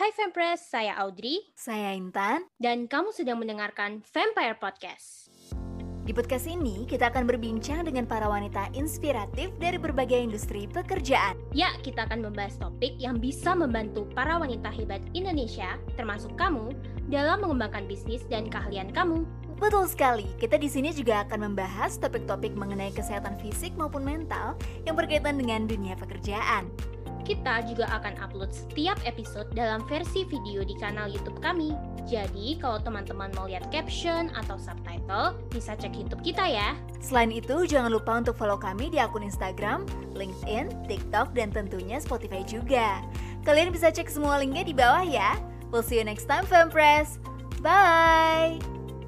Hai Fempress, saya Audrey Saya Intan. dan kamu sedang mendengarkan Vampire Podcast. Di podcast ini kita akan berbincang dengan para wanita inspiratif dari berbagai industri pekerjaan. Ya, kita akan membahas topik yang bisa membantu para wanita hebat Indonesia, termasuk kamu, dalam mengembangkan bisnis dan keahlian kamu. Betul sekali, kita di sini juga akan membahas topik-topik mengenai kesehatan fisik maupun mental yang berkaitan dengan dunia pekerjaan. Kita juga akan upload setiap episode dalam versi video di kanal YouTube kami. Jadi, kalau teman-teman mau lihat caption atau subtitle, bisa cek YouTube kita ya. Selain itu, jangan lupa untuk follow kami di akun Instagram, LinkedIn, TikTok, dan tentunya Spotify juga. Kalian bisa cek semua linknya di bawah ya. We'll see you next time, Fempress. Bye!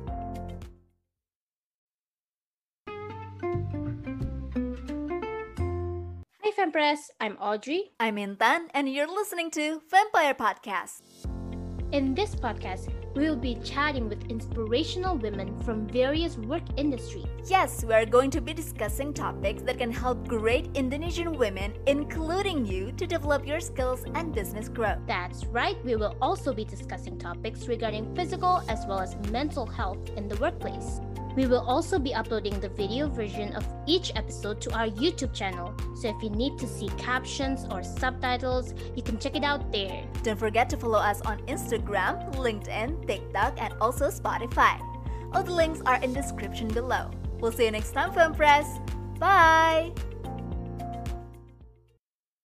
Hai Fempress, I'm Audrey. I'm Intan, and you're listening to Vampire Podcast. In this podcast, we will be chatting with inspirational women from various work industries. Yes, we are going to be discussing topics that can help great Indonesian women, including you, to develop your skills and business growth. That's right, we will also be discussing topics regarding physical as well as mental health in the workplace. We will also be uploading the video version of each episode to our YouTube channel. So if you need to see captions or subtitles, you can check it out there. Don't forget to follow us on Instagram, LinkedIn, TikTok, and also Spotify. All the links are in the description below. We'll see you next time, Fempress. Bye!